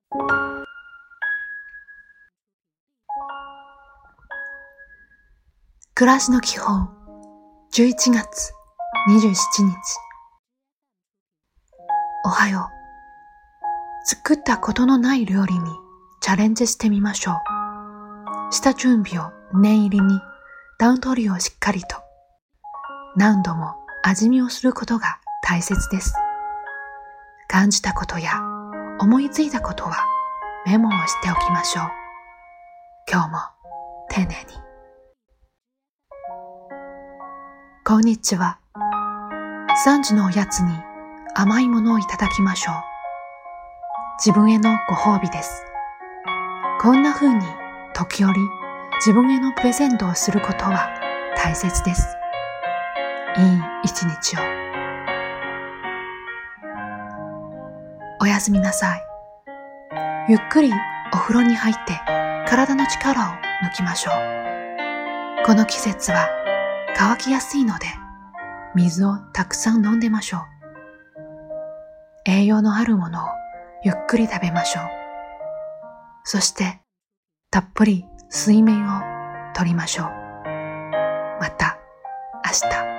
暮らしの基本11月27日。おはよう。作ったことのない料理にチャレンジしてみましょう。下準備を念入りに、段取りをしっかりと、何度も味見をすることが大切です。感じたことや思いついたことはメモをしておきましょう。今日も丁寧に。こんにちは。3時のおやつに甘いものをいただきましょう。自分へのご褒美です。こんな風に時折自分へのプレゼントをすることは大切です。いい一日を。おやすみなさい。ゆっくりお風呂に入って体の力を抜きましょう。この季節は乾きやすいので水をたくさん飲んでましょう。栄養のあるものをゆっくり食べましょう。そしてたっぷり睡眠をとりましょう。また明日。